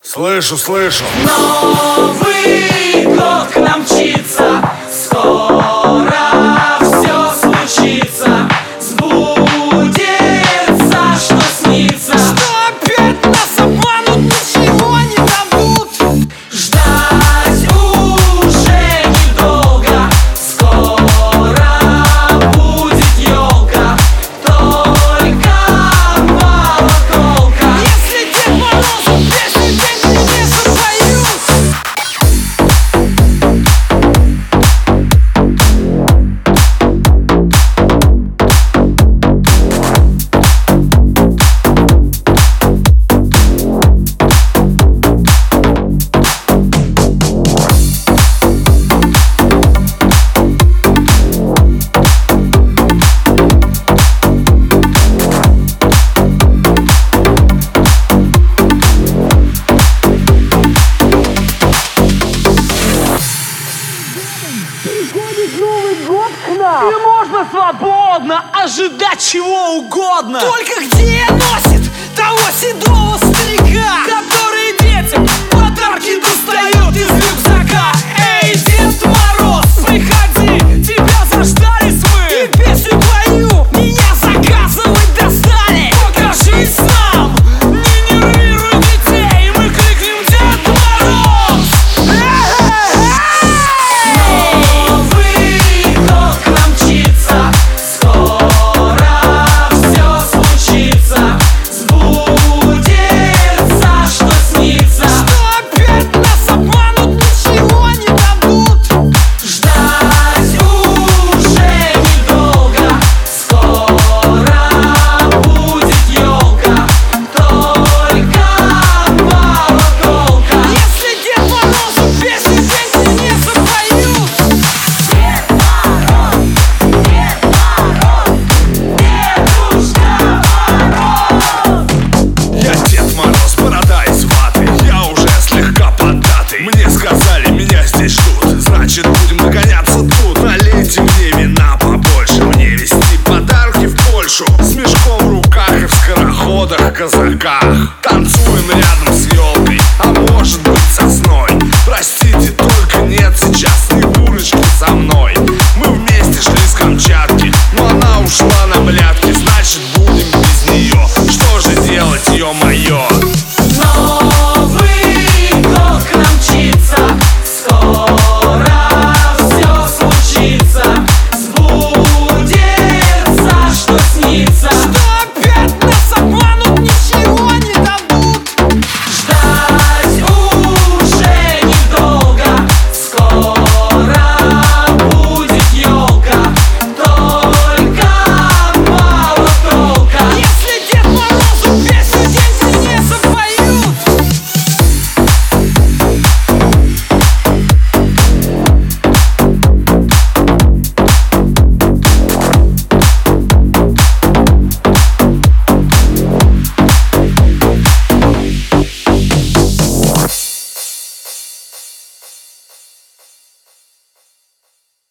Слышу, слышу. Новый год к нам мчится, скоро все случится, сбудется, что снится. Что опять нас обманут, ничего не дадут. Ждать уже недолго, скоро будет елка, только мало толка. Если Дед Морозу песню деньги не запоют. Приходит Новый год к нам, И можно свободно ожидать чего угодно. только где носит того седого старика?